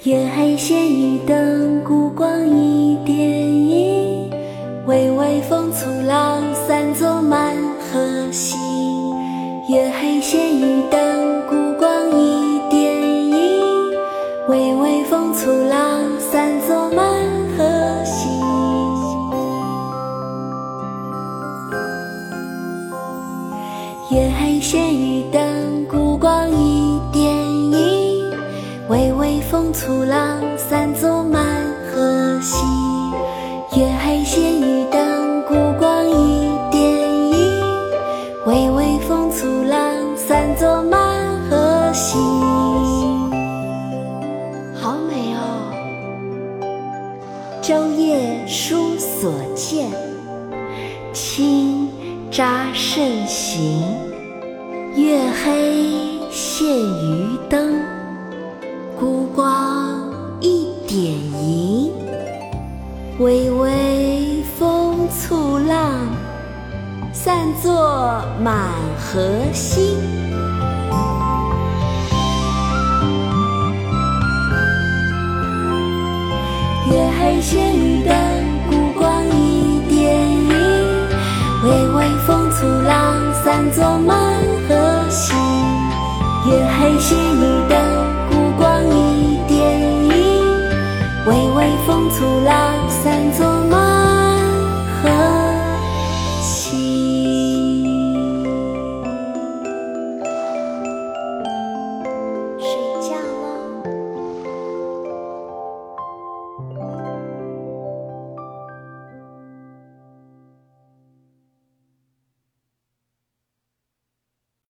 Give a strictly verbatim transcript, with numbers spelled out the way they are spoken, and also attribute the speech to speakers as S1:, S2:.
S1: 月黑仙雨灯，孤光一点影，微微风簇浪，散作满河星。月黑仙雨灯，孤光一点影，微微风簇浪，散作满河星。月黑仙雨灯，孤光一点影，微微风簇浪，散作满河星。月黑仙雨灯，孤光一点影，微微风簇浪，散作满河星。好美哦！舟夜书所见，轻札慎行。月黑现渔灯，孤光一点萤，微微风簇浪，散作满河星。月黑仙雨灯，